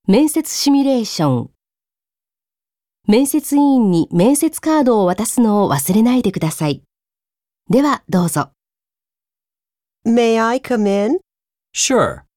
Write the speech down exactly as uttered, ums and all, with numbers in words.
面接シミュレーション。面接委員に面接カードを渡すのを忘れないでください。ではどうぞ。 May I come in? Sure.